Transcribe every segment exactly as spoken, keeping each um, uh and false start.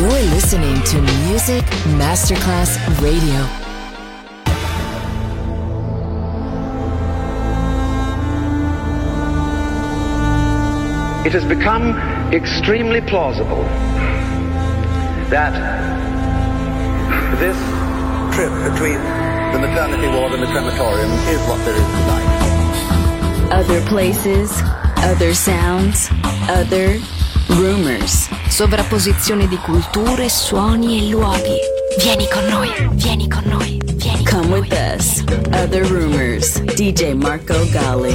You're listening to Music Masterclass Radio. It has become extremely plausible that this trip between the maternity ward and the crematorium is what there is tonight. Other places, other sounds, other rumors. Sovrapposizione di culture, suoni e luoghi. Vieni con noi, vieni con noi, vieni con Come noi. with us. Other rumors. D J Marco Gally.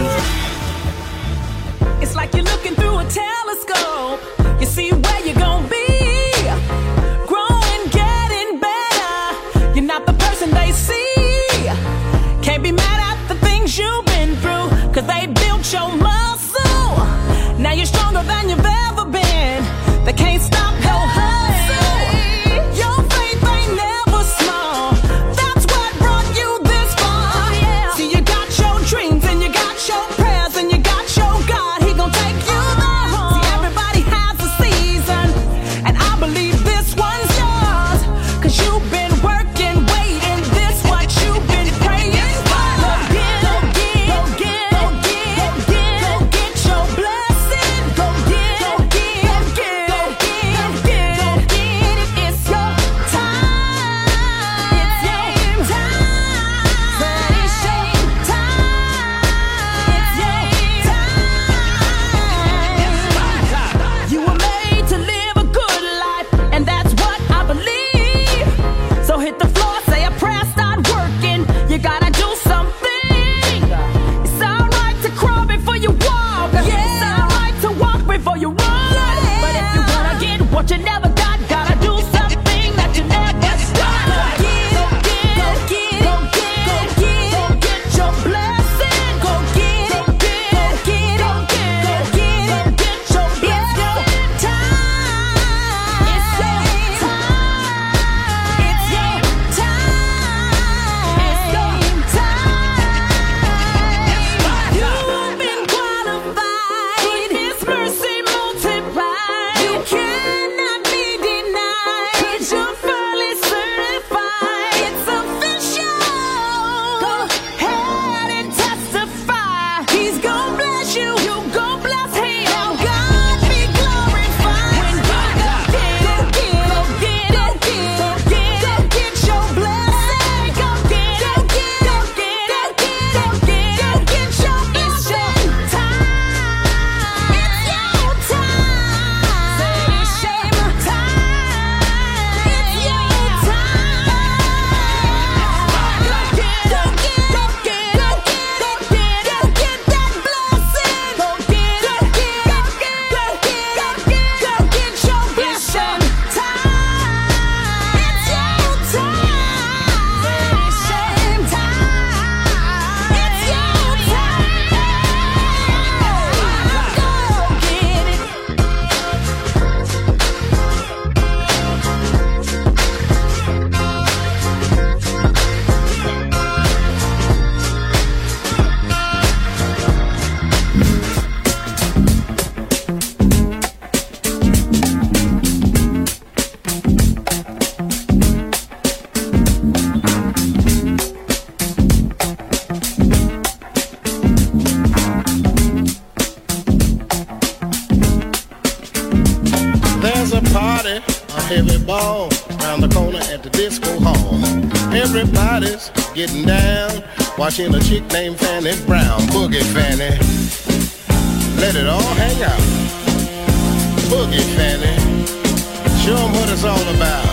It's like you're looking through a telescope. You see where you're gonna be. Growing, getting better. You're not the person they see. Can't be mad at the things you've been through, 'cause they built your muscle. Now you're stronger than you've ever been. They can't stop your hustle. Your faith ain't never small. That's what brought you this far. See, you got your dreams and you got your prayers and you got your God. He gon' take you there. See, everybody has a season, and I believe this one's yours. 'Cause you've been working, waiting. This what you've been praying for. Go get, go get, go get, go get, go get, go get your blessing. Go get, go get, go get, go get, go get, go get it. It's your time. It's your time. It's your time. It's your time. You were made to live a good life, and that's what I believe. So hit the floor, say a prayer, start working. You gotta do something. It's alright to crawl before you walk. It's alright to walk before you run. But if you wanna get what you never got, gotta do something that you never done. Go get, go get, go get, go get, go get, go get your blessing. Go get, go get, go get, go get, go get, go get your blessing. It's your time. It's your time. It's your time. It's your time. You've been qualified. His mercy multiplied. You cannot be denied. 'Cause you're fully certified. It's official. Go ahead and testify. He's gonna bless you. You gon' bless him. Now God be glorified. When you go get, go get, go get, go get, go get, go get your blessing. Go get, go get, go get, go get, go get, go get your blessing. It's your time. It's your time. Say it's your time. It's your time. Go get, go get, go get, go get, go get, go get that blessing. Go get, go get, go get, go get, go get, go get your blessing. Time. It's your time. It's your time. It's your There's a party, a heavy ball, round the corner at the disco hall. Everybody's getting down, watching a chick named Fanny Brown. Boogie Fanny, let it all hang out. Boogie Fanny, show 'em what it's all about.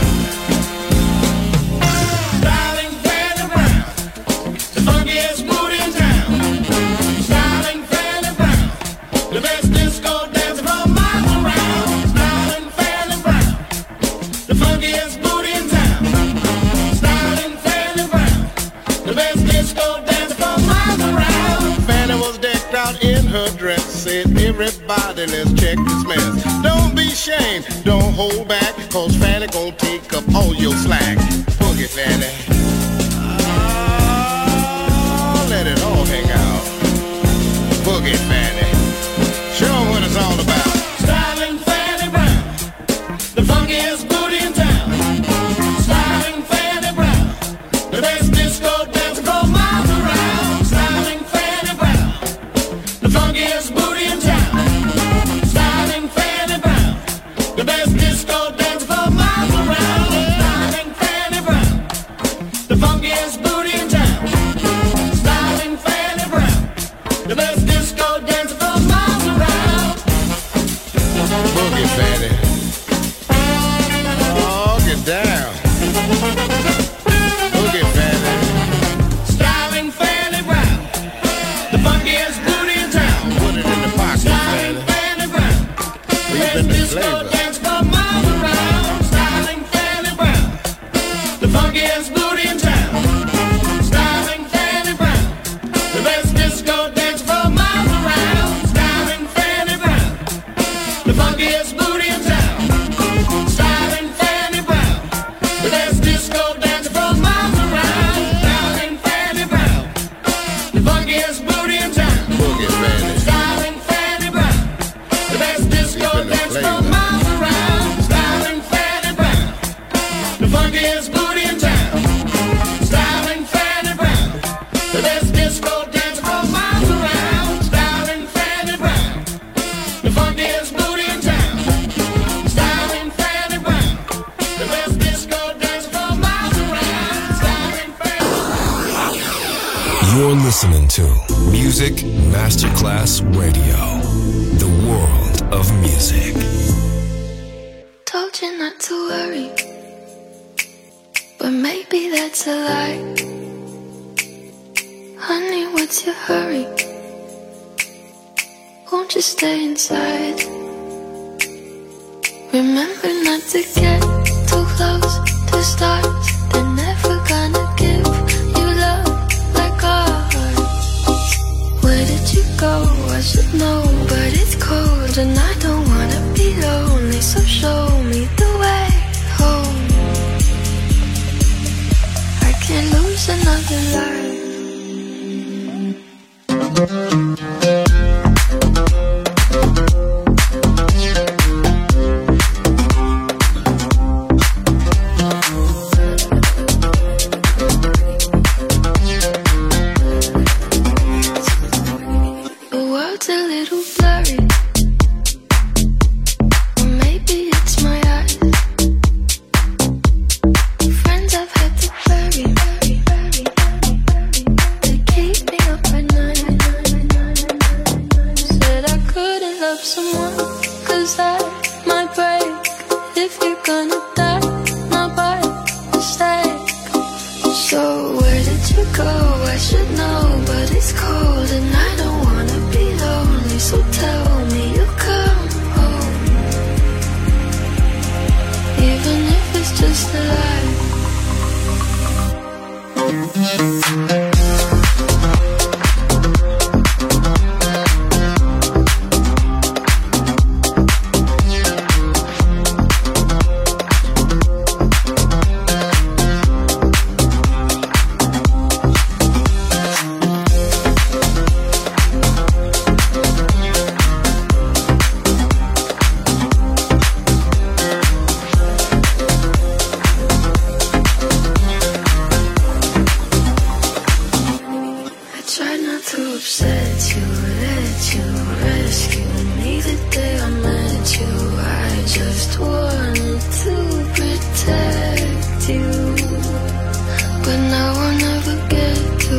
Styling Fanny Brown, the funkiest booty in town. Styling Fanny Brown, the best disco dancer from miles around. Styling Fanny Brown, the funkiest booty in town. Styling Fanny Brown, the best disco dancer from miles around. Fanny was decked out in her dress, said everybody let's check this mess. Don't be ashamed, don't hold back, 'cause Fanny gon' take up all your slack. Boogie Fanny, ah, let it all hang out. Boogie Fanny, show 'em what it's all about. Styling Fanny Brown, the funkiest booty in town. Fanny. Oh, get down. Boogie, Fanny. Styling Fanny Brown, the funkiest booty in town. Put it in the pocket, Fanny. Fanny Brown, leave in the flavor. Dance for miles around. Styling Fanny Brown, the funkiest booty in town. Styling Fanny Brown, the best disco dance for miles around. Styling Fanny Brown, the funkiest booty in town. Styling Fanny Brown, the best disco dance for miles around. Styling Fanny Brown, the funkiest booty in town. Boogie Fanny. Styling Fanny Brown, the best disco dance for miles around. Styling Fanny Brown, the funkiest booty in town. Styling Fanny Brown, the best disco dance for miles around. Styling Fanny Brown, the funkiest booty in town. Styling Fanny Brown, the best disco dance for miles around. Styling Fanny. You're listening to Music Masterclass Radio, the world of music. Told you not to worry, but maybe that's a lie. Honey, what's your hurry? Won't you stay inside? Remember not to get too close to stars. They're never gonna give you love like ours. Where did you go? I should know, but it's cold and I don't wanna be lonely. So show me the way home. I can't lose another life. The world's a little blurry, or maybe it's my eyes. Friends I've had to bury, they keep me up at night. Said I couldn't love someone, cause I might break. If you're gonna die, not by mistake. So where did you go? I should know, but it's cold and I don't wanna be lonely. So tell me you'll come home, even if it's just a lie. I tried not to upset you, let you rescue me the day I met you. I just wanted to protect you, but now I'll never get to.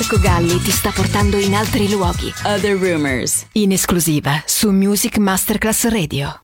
Marco Galli ti sta portando in altri luoghi. Other Rumors. In esclusiva su Music Masterclass Radio.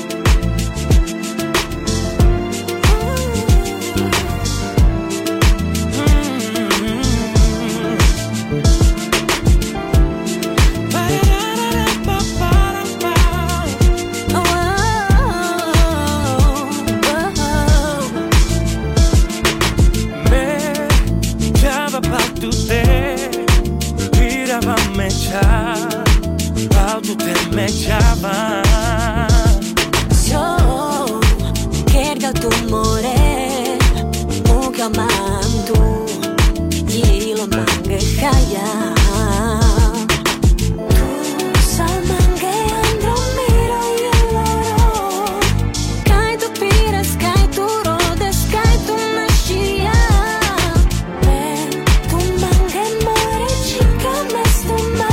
So, kerga tumore, muka mantu, yilo mange kaya. Tu sal mange andro miro yeloro, kai tu pires, kai tu rodes, kai tu nascia. Ben, tu mange more chica mestuma.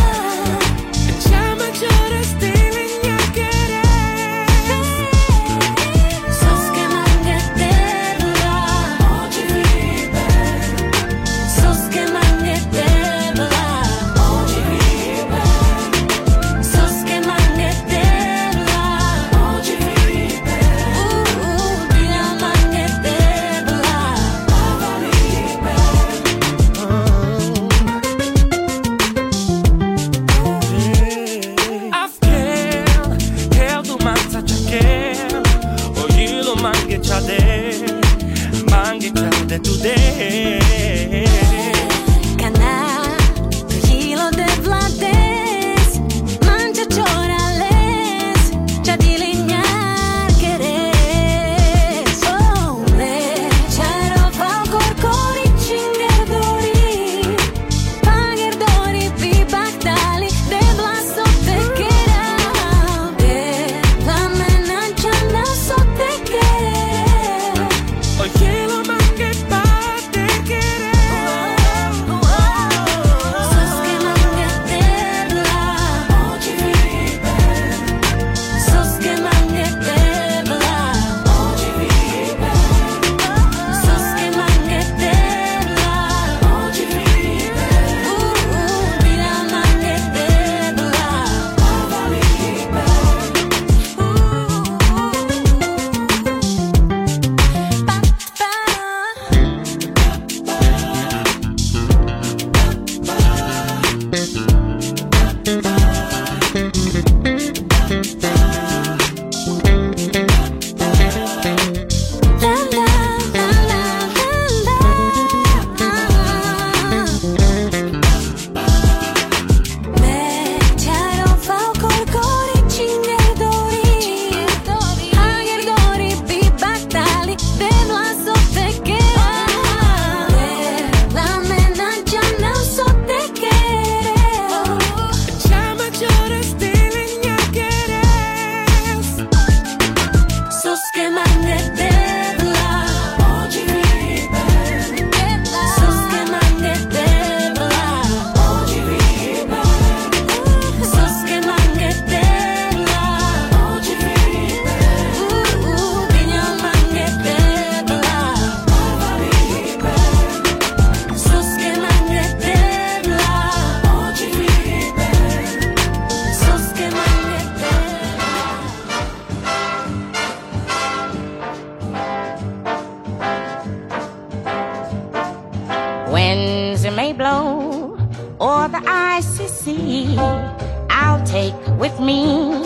I'll take with me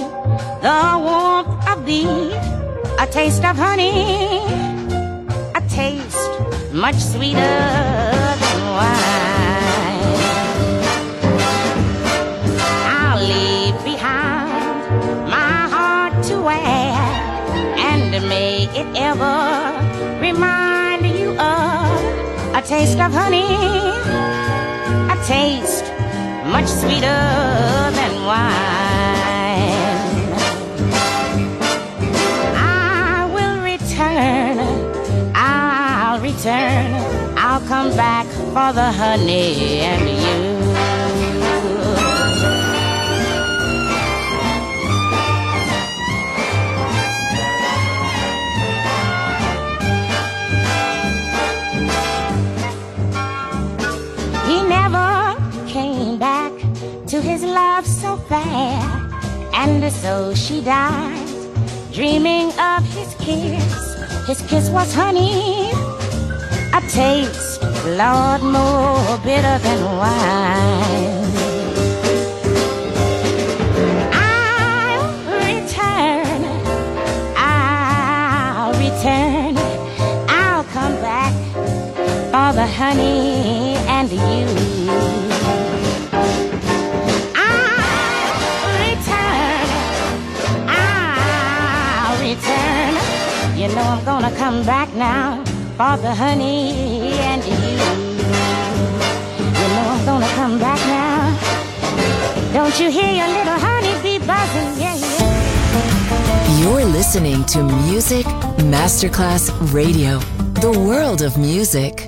the warmth of thee, a taste of honey, a taste much sweeter than wine. I'll leave behind my heart to wear, and may it ever remind you of a taste of honey, a taste much sweeter than wine. I will return, I'll return, I'll come back for the honey and you. He never affair, and so she died, dreaming of his kiss. His kiss was honey, a taste, Lord, more bitter than wine. I'll return, I'll return, I'll come back for the honey and you. You know I'm gonna come back now for the honey and you. You know I'm gonna come back now. Don't you hear your little honey bee buzzing? Yeah, yeah. You're listening to Music Masterclass Radio, the world of music.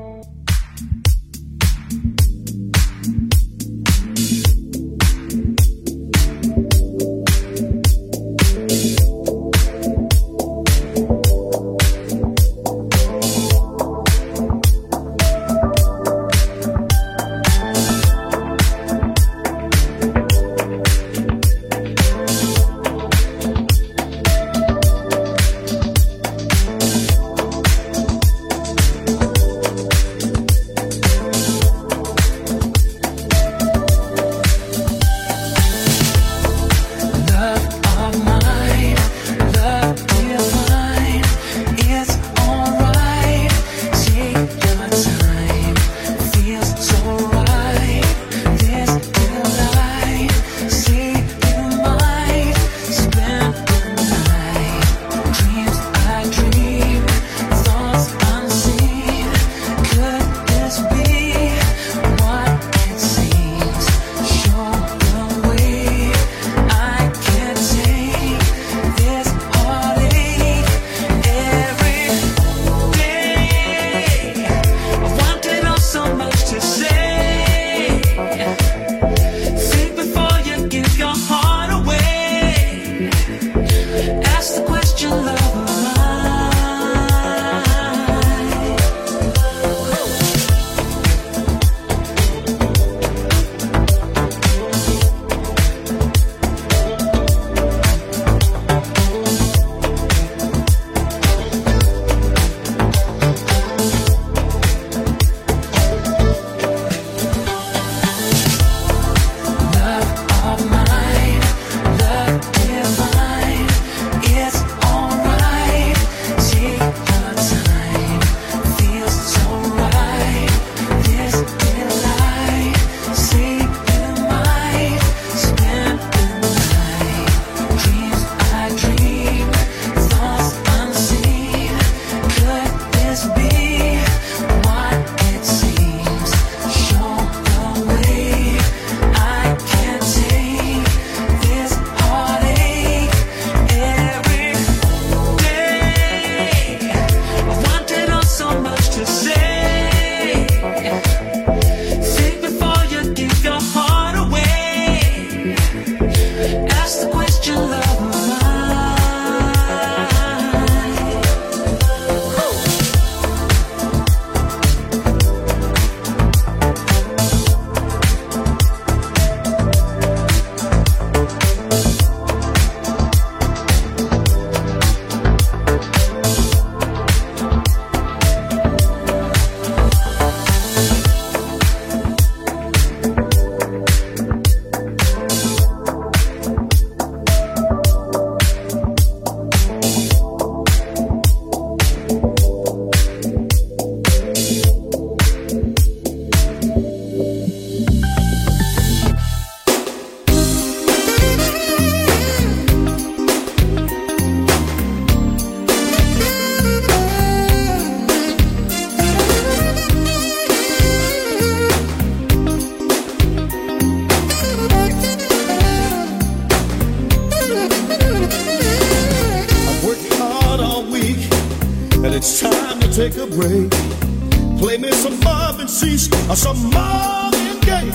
take a break. Play me some Marvin Cease or some Marvin Gaye.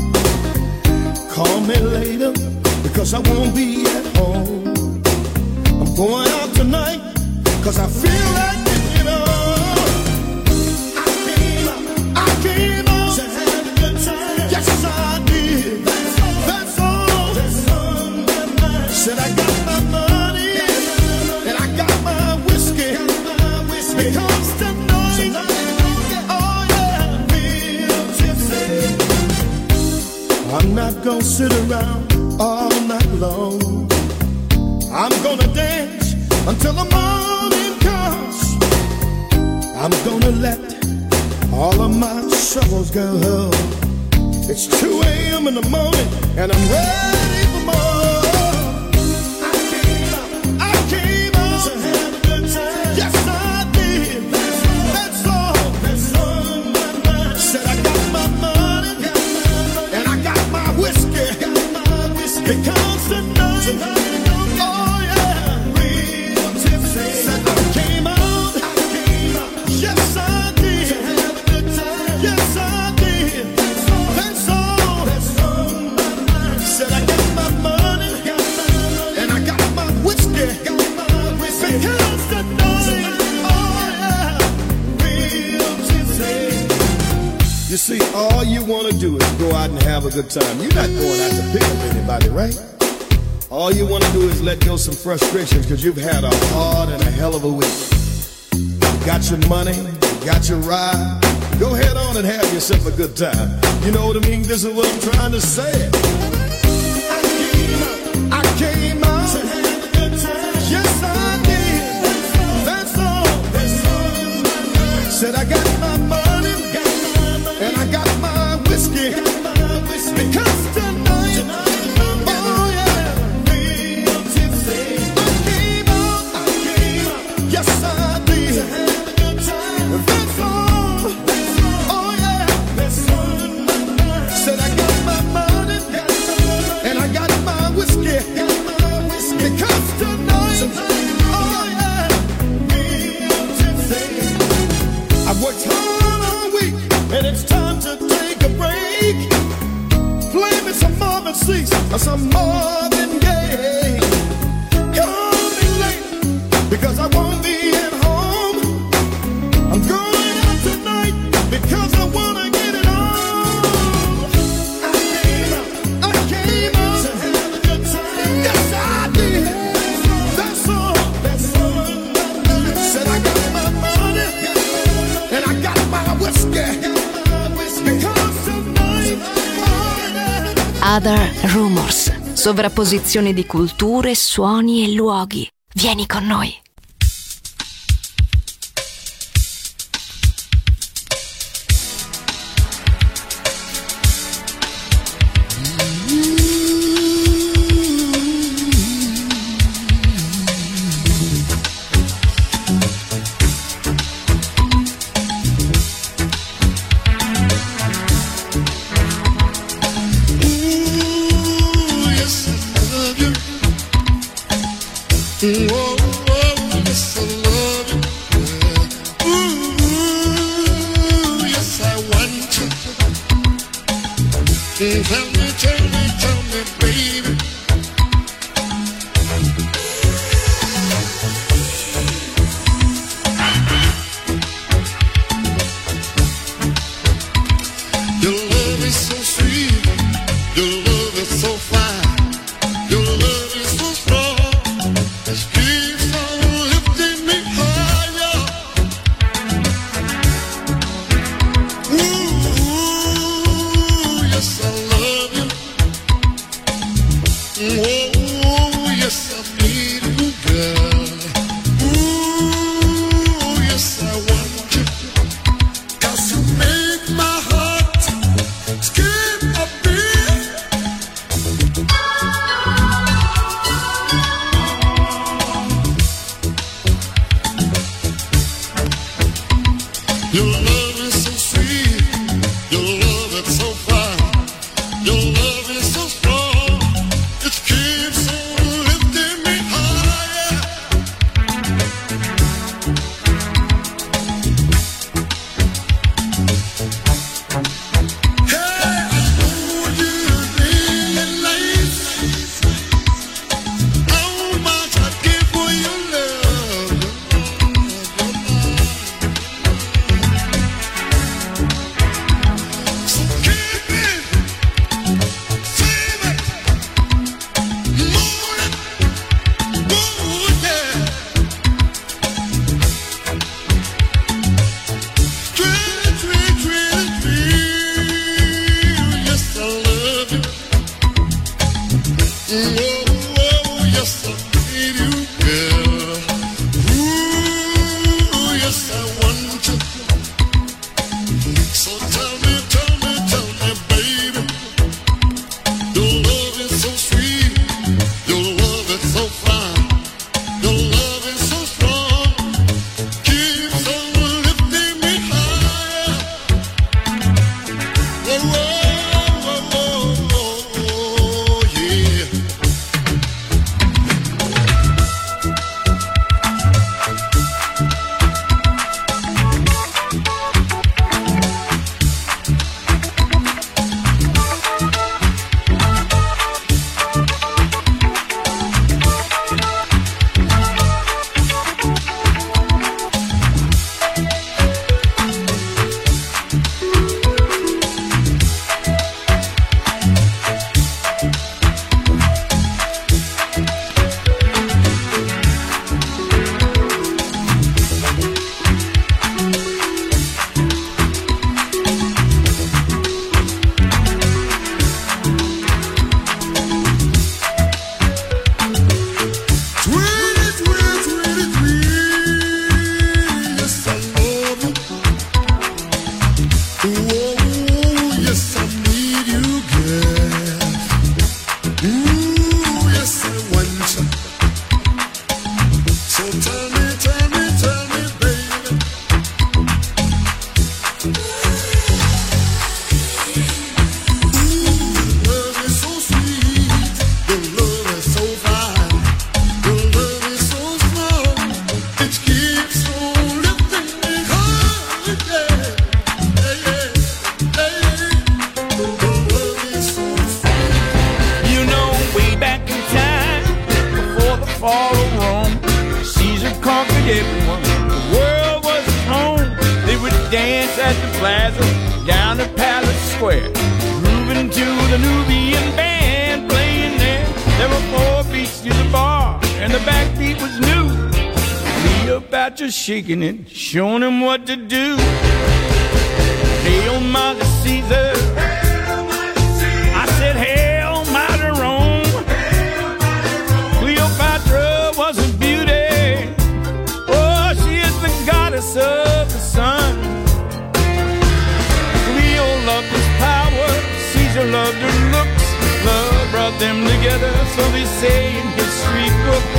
Call me later because I won't be at home. I'm going out tonight because I feel like it, you know. I came out, I came out to have a good time. Yes, I did. That's all. That's all. That's all. gonna sit around all night long. I'm gonna dance until the morning comes. I'm gonna let all of my troubles go. It's two a.m. in the morning and I'm ready for more. I came out, I came out to have a good time. Yes, I did. That's all. That's all my mind. Said I got my money, got my money, and I got my whiskey. Got my whiskey. Because tonight, oh yeah, real tipsy. Said I came out, I came out. Yes, I did. To have a good time. Yes, I did. That's all. That's all my mind. Said I got my money, got my money, and I got my whiskey. Got my whiskey. Because tonight, oh yeah, real tipsy. You see, all you want to do is go out and have a good time. You're not going out to pick up anybody, right? All you want to do is let go some frustrations because you've had a hard and a hell of a week. You got your money, you got your ride. Go head on and have yourself a good time. You know what I mean? This is what I'm trying to say. I came out, I came out to have a good time. Yes, I did. That's all. That's all my mind. Said I got my money, got my money, and I got my whiskey. Got my whiskey. Because tonight, tonight oh yeah, real tipsy. I came out, I came out. Yes, I did. To have a good time. That's all. That's all. Oh yeah, that's all my mind. Said I got my money, got my money, and I got my whiskey. Got my whiskey. Because tonight, tonight oh yeah, real tipsy. I've worked hard all week, and it's time to take a break. Play me some Marvin Cease or some Marvin Gaye. Call me late because I won't be at home. I'm going out tonight because I wanna get it on. I came out, I came out to have a good time. Yes, I did. That's all. That's all my mind. Said I got my money, and I got my whiskey. Because tonight, oh yeah. Other Rumors. Sovrapposizione di culture, suoni e luoghi. Vieni con noi. Whoa, whoa, yes, I love you. Ooh, yes, I want you. Tell me, tell me, tell me, baby. Your love is so sweet. Your love is so fine. Your love is so strong. It keeps on lifting me higher. Ooh, yes, I love you. Oh, yes, I need you, girl. Ooh, yes, I want you. 'Cause you make my heart skip a beat. Your love is so sweet. Your love is so fine. Your love is so strong. It keeps on lifting me higher. Hey, I know you're really late. How much I give for your love. dance at the plaza down to Palace Square, grooving to the Nubian band playing there. There were four beats to the bar, and the backbeat was new. Cleopatra shaking it, showing him what to do. Hail, Mighty Caesar. I said, Hail, Mighty Rome. Cleopatra was a beauty. Oh, she is the goddess of the sun. Cleo loved his power, Caesar loved her looks. Love brought them together, so they say in history books.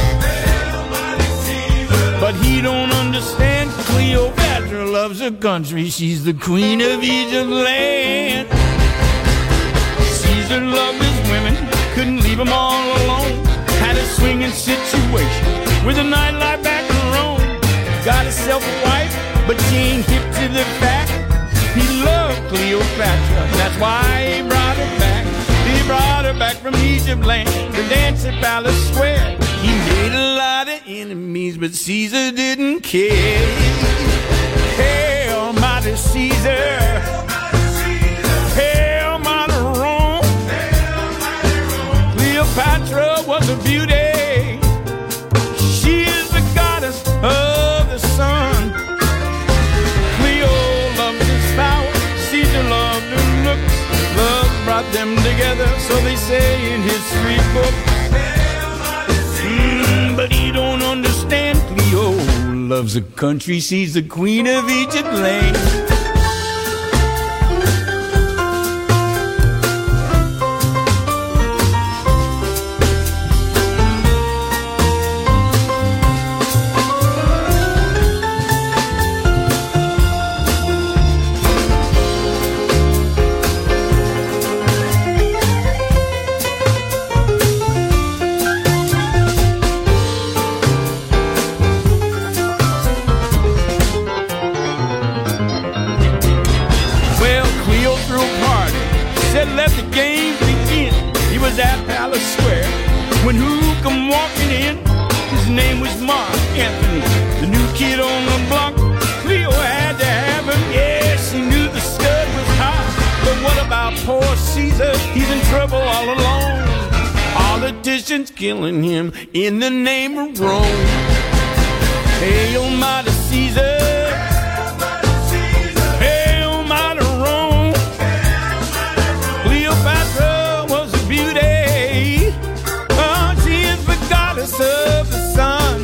But he don't understand. Cleopatra loves her country. She's the queen of Egypt land. Caesar loved his women, couldn't leave them all alone. Had a swinging situation with a nightlife back in Rome. Got himself a wife, but she ain't hip to the fact. He loved Cleopatra, that's why he brought her back. He brought her back from Egypt land to dance at Palace Square. He made a lot of enemies, but Caesar didn't care. Hail, Mighty Caesar. Hail, Mighty Rome. Cleopatra was a beauty. She is the goddess of the sun. Cleo loved his power, Caesar loved her looks. Love brought them together, so they say in history books. Mm, but he don't understand. Cleo loves a country, she's the queen of Egypt land. When who come walking in? His name was Mark Anthony, the new kid on the block. Cleo had to have him, yeah, she knew the stud was hot. But what about poor Caesar? He's in trouble all alone. Politicians killing him in the name of Rome. Hail, Mighty Caesar. Hail, Mighty Rome. Cleopatra was a beauty. Of the sun.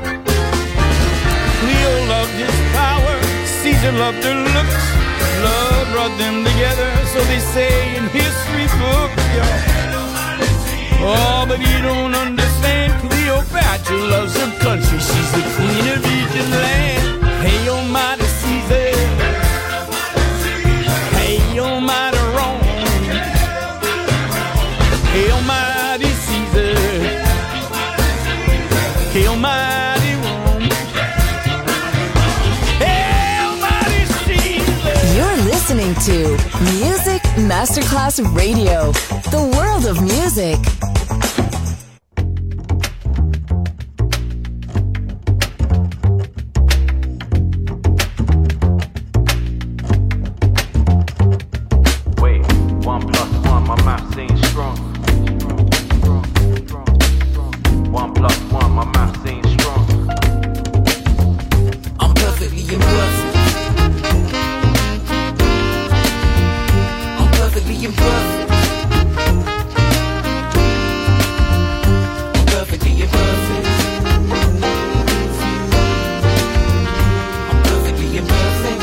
Cleo loved his power, Caesar loved her looks. Love brought them together, so they say in history books, yeah. Oh, but you don't understand. Cleopatra loves her country, she's the queen of Egypt land. Hail, Mighty Caesar. Hail, Mighty Rome. Hail, Mighty Caesar. Hail, Mighty Rome. Hail, Mighty Caesar. You're listening to Music Masterclass Radio, the world of music. Wait, one plus one, my maths ain't strong. One plus one, my maths ain't strong. I'm perfectly imperfect. I'm perfectly imperfect. I'm perfectly imperfect. I'm perfectly imperfect.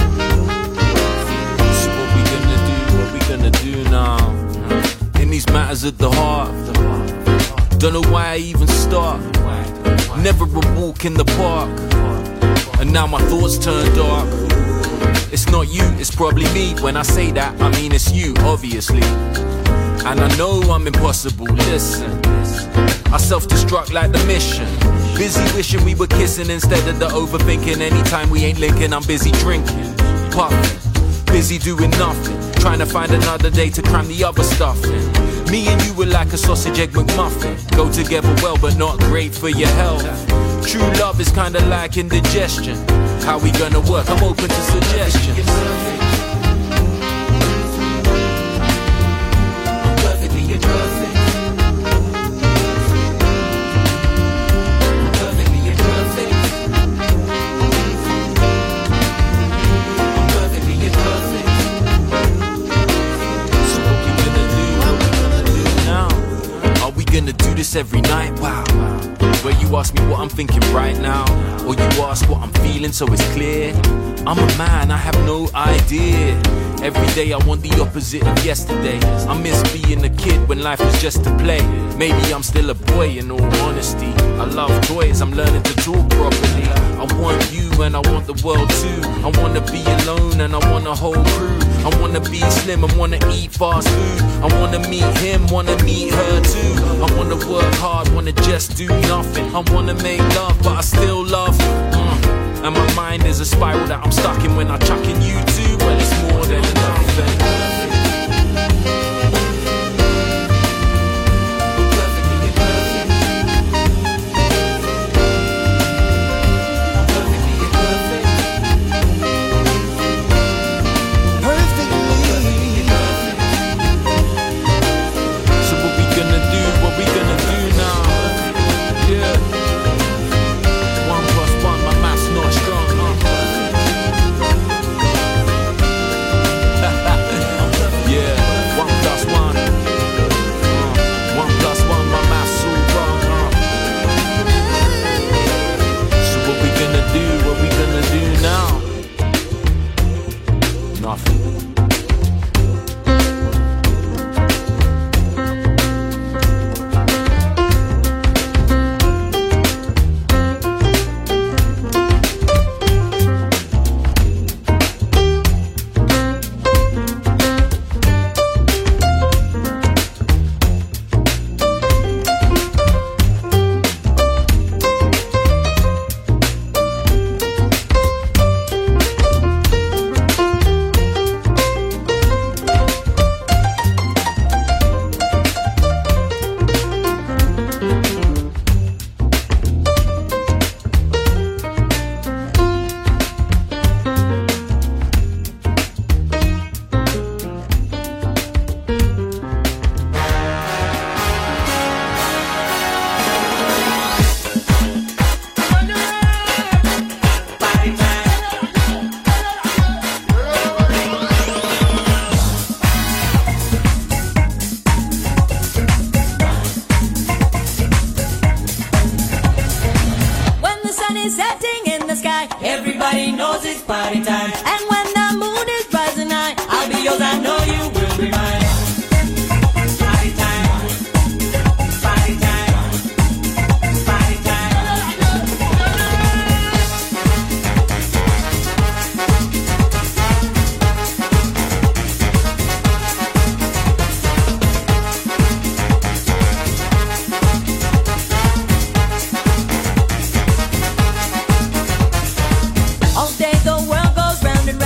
So what we gonna do? What we gonna do now? In these matters at the heart. Don't know why I even start. Never a walk in the park. And now my thoughts turn dark. It's not you, it's probably me. When I say that, I mean it's you, obviously. And I know I'm impossible, listen. I self-destruct like the mission. Busy wishing we were kissing instead of the overthinking. Anytime we ain't linking, I'm busy drinking, puffing, busy doing nothing. Trying to find another day to cram the other stuff in. Me and you were like a sausage egg McMuffin. Go together well, but not great for your health. True love is kinda like indigestion. How we gonna work? I'm open to suggestions. I'm perfectly imperfect. I'm perfectly imperfect. I'm perfectly imperfect. So what we gonna do? What we gonna do now? Are we gonna do this every night? Wow. Where you ask me what I'm thinking right now, or you ask what I'm feeling so it's clear. I'm a man, I have no idea. Every day I want the opposite of yesterday. I miss being a kid when life was just a play. Maybe I'm still a boy in all honesty. I love toys, I'm learning to talk properly. I want you and I want the world too. I wanna be alone and I want a whole crew. I wanna be slim, I wanna eat fast food. I wanna meet him, wanna meet her too. I wanna work hard, wanna just do nothing. I wanna make love, but I still love mm. And my mind is a spiral that I'm stuck in when I'm chucking you too. Well, it's more than enough. Everybody knows it's party time. And when the moon is rising high, I'll be yours, I know you will be mine. Party time. Party time. Party All day the world goes round and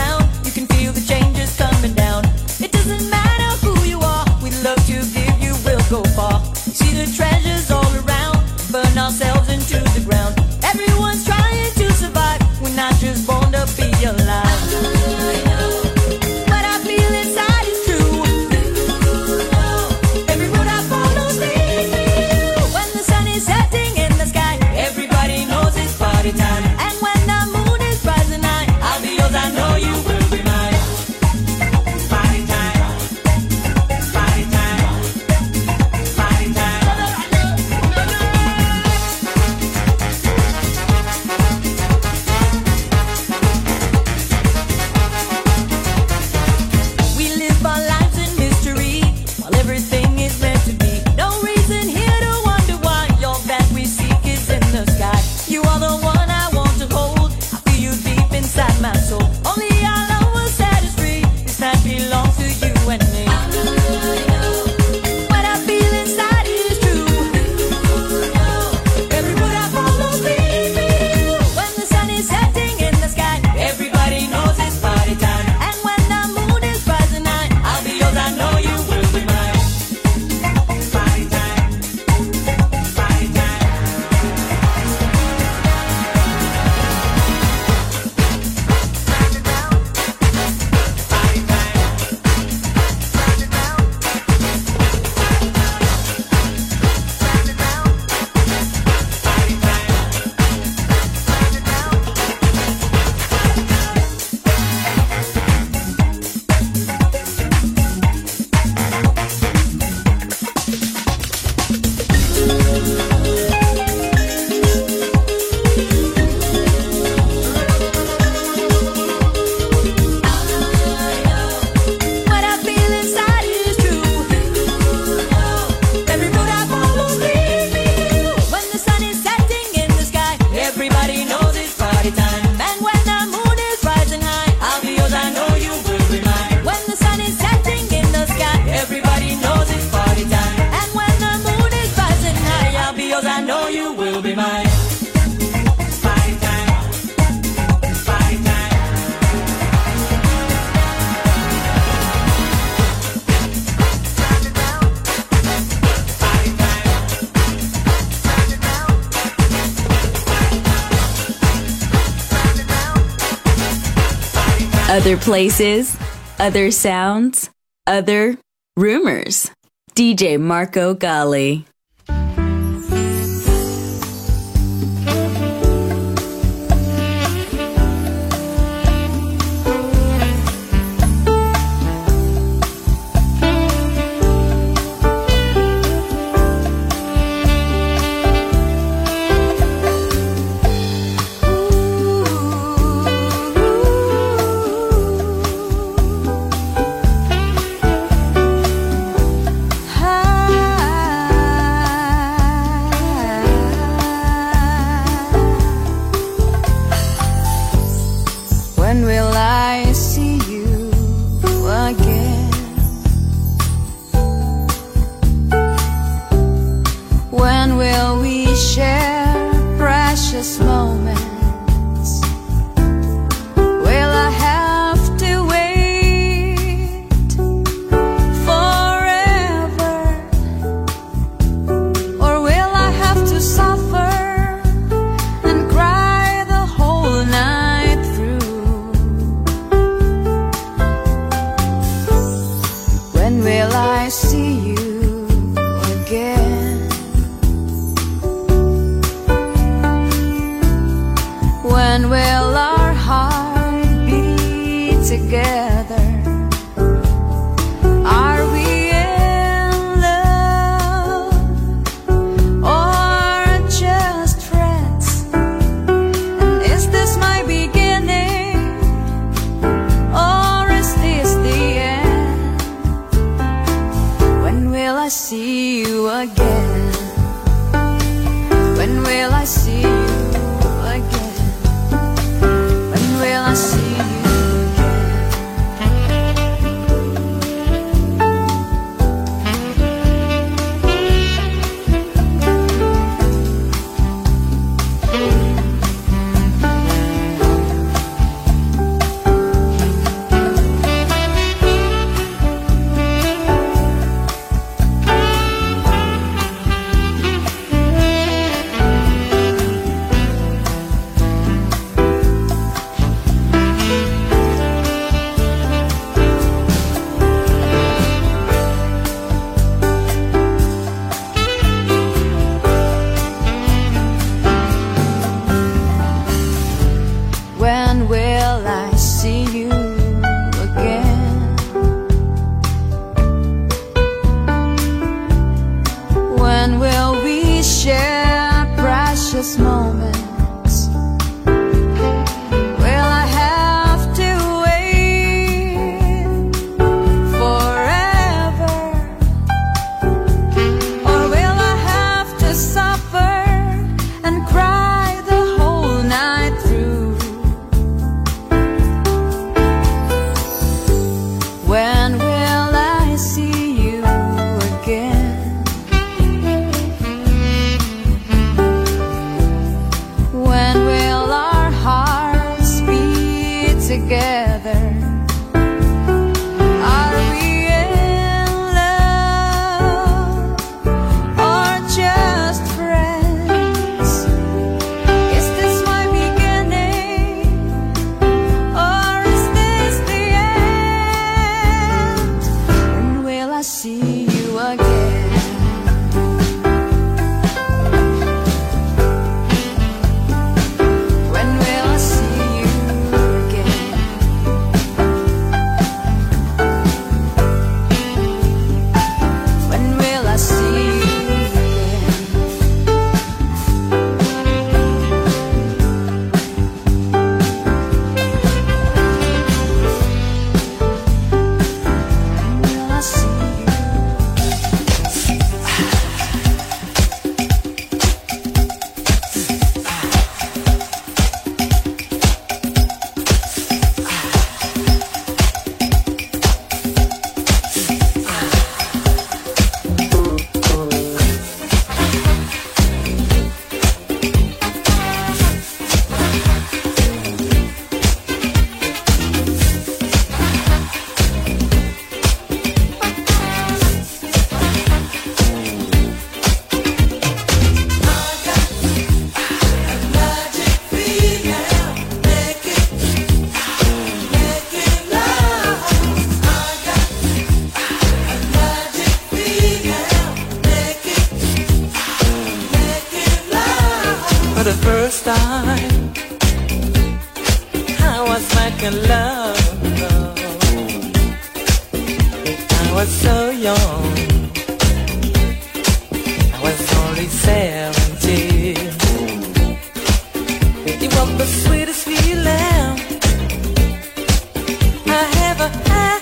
Other places, other sounds, other rumors. D J Marco Gally. first time I was making love, I was so young, I was only seventeen. It was the sweetest feeling I ever had,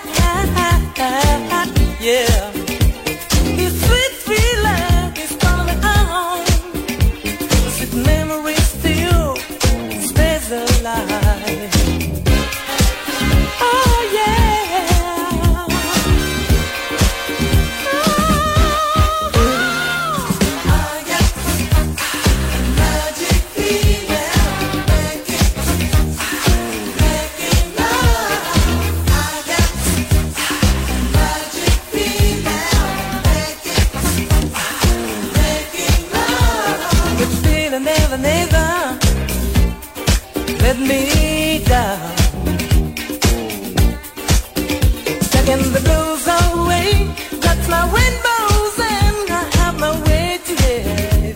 yeah. This sweet, sweet love is coming on. The sweet memory still stays alive. Oh yeah. Oh, I got magic feeling, making, making love. I got magic feeling, making, making love. Good feeling never, never let me down. Taking the blues away, that's my rainbows and I have my way to get.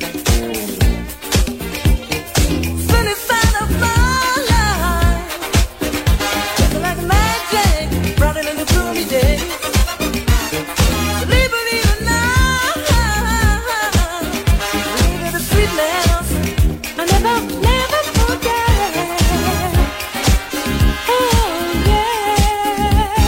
Sunny side of my life, just like magic, brought it in the gloomy day. Believe, believe it now, believe in the sweetness, I never, never forget. Oh yeah.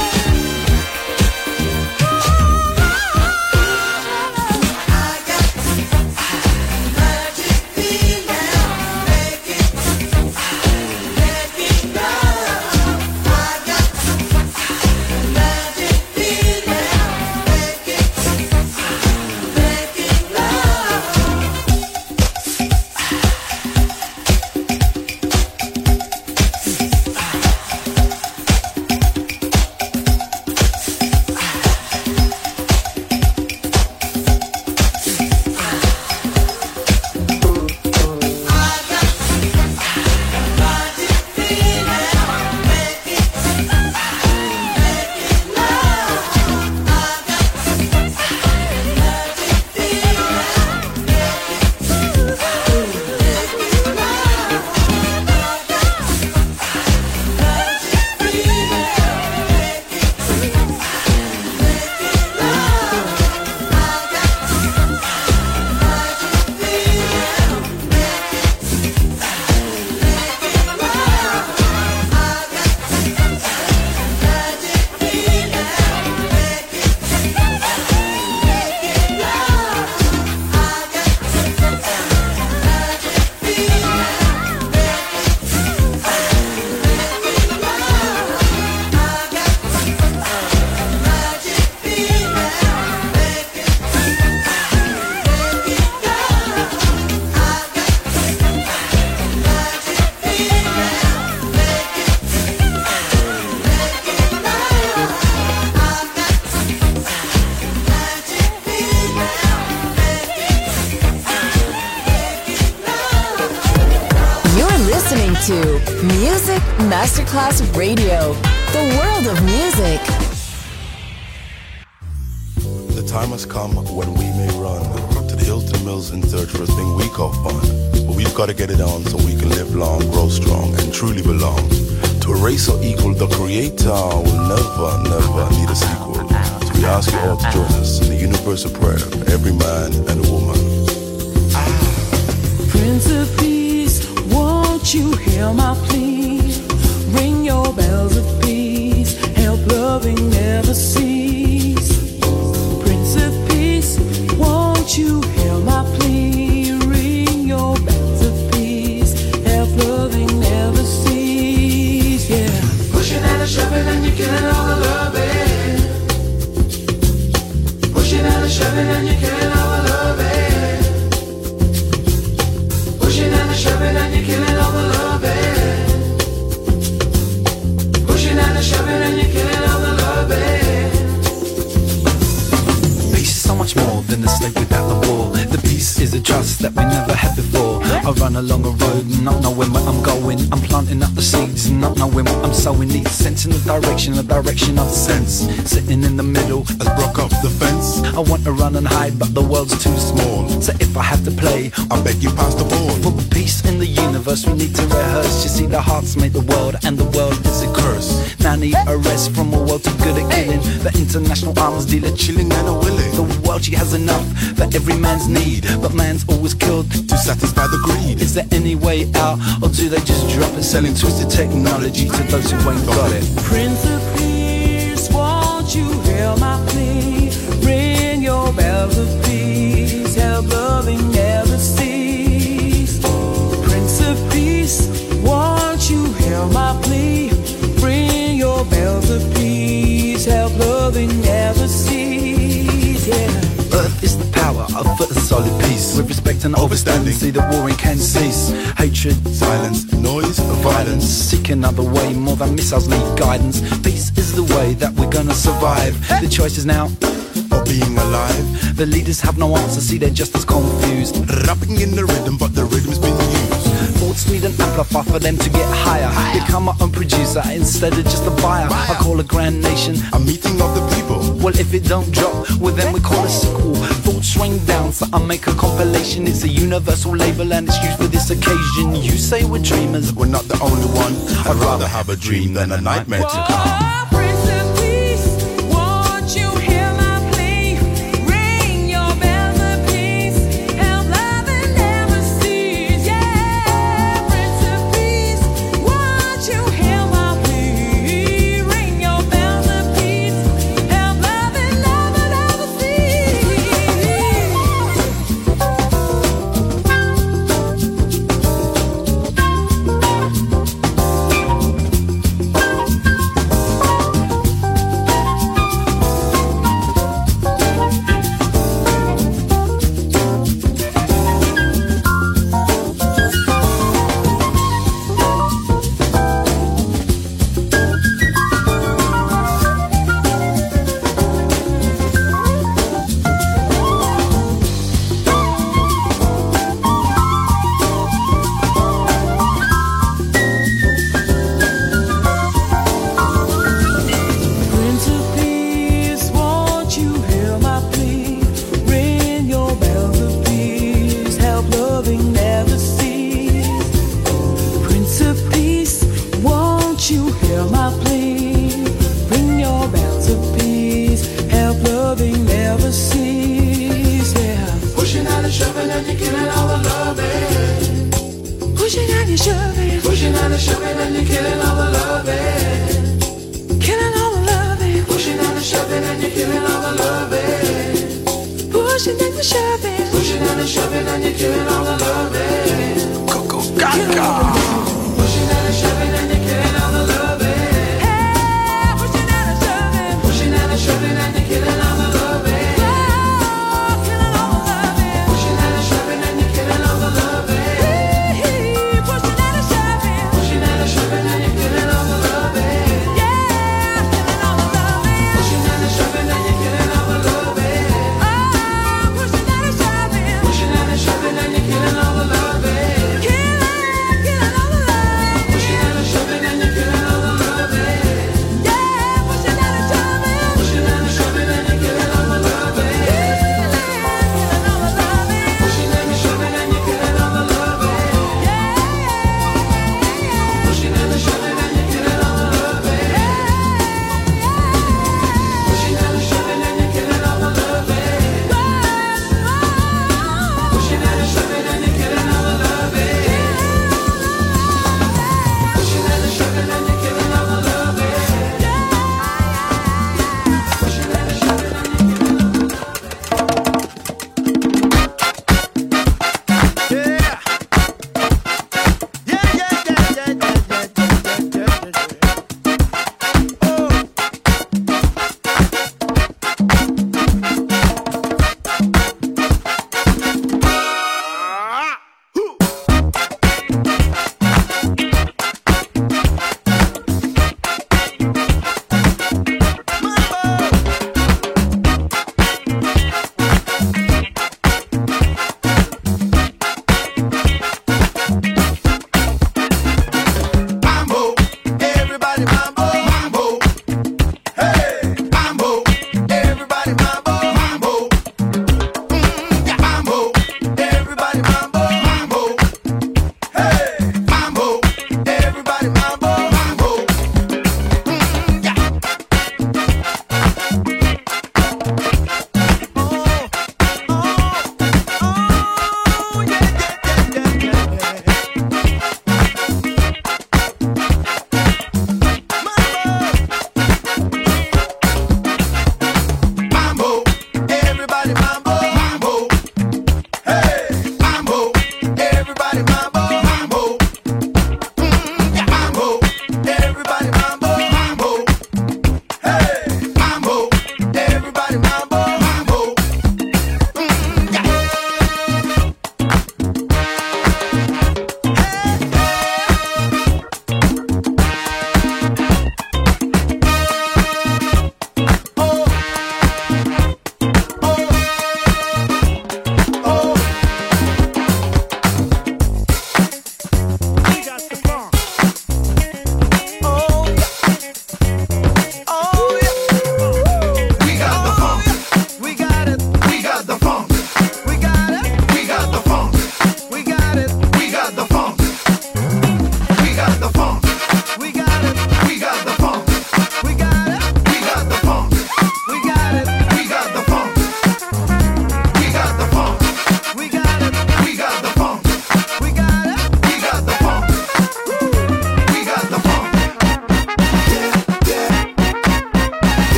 to Music Masterclass Radio, the world of music. The time has come when we may run to the Hilton Mills in search for a thing we call fun. But we've got to get it on so we can live long, grow strong, and truly belong. To a race so equal, the Creator will never, never need a sequel. So we ask you all to join us in the universal prayer of every man and woman. Prince of Peace, won't you hear my plea? Ring your bells of peace, help loving never cease. Prince of Peace, won't you hear my plea? Ring your bells of peace, help loving never cease. Yeah. Pushing and a shoving and you're killing all the loving. Pushing and a shoving and you're killing all the loving. Pushing and a shoving and you're killing all the loving. Pushing and a shoving and you're killing all the loving. Peace is so much more than the state without the war. The peace is a trust that we never had before. I run along a road and not knowing where I'm going. I'm planting up the seeds and not knowing what I'm sowing. Need sense in the direction, the direction of sense. Sitting in the middle as broke up the fence. I want to run and hide, but the world's too small. So if I have to play, I beg you pass the ball. For peace in the universe, we need to rehearse. You see, the hearts made the world, and the world is a curse. Now need a rest from a world too good at killing. The international arms dealer chilling and a willing. The world, she has enough for every man's need, but man's always killed to satisfy the greed. Is there any way out, or do they just drop it? Selling twisted technology to those who ain't got it. Prince of Peace, won't you hear my plea? Ring your bells of peace, help loving never cease. Prince of Peace, won't you hear my plea? Ring your bells of peace, help loving never cease. Yeah. Earth is the power of a solid peace. With respect and overstanding, see the warring can cease. Hatred, silence, noise, violence. Seek another way, more than missiles need guidance. Peace is the way that we're gonna survive. The choice is now of being alive. The leaders have no answer, see they're just as confused. Rapping in the rhythm, but the rhythm's been used. Thoughts need an amplifier for them to get higher. higher. Become my own producer instead of just a buyer. buyer. I call a grand nation a meeting of the people. Well, if it don't drop, well then we call it sequel. Thoughts rain down, so I make a compilation. It's a universal label and it's used for this occasion. You say we're dreamers, we're not the only one. I'd rather have a dream than a nightmare to come. Killing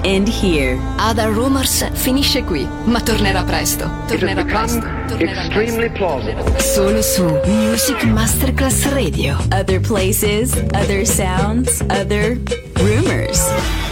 end here. Other Rumors finisce qui, ma tornerà presto. Tornerà presto. Tornerà Extremely plausible. Solo su Music Masterclass Radio. Other places, other sounds, other rumors.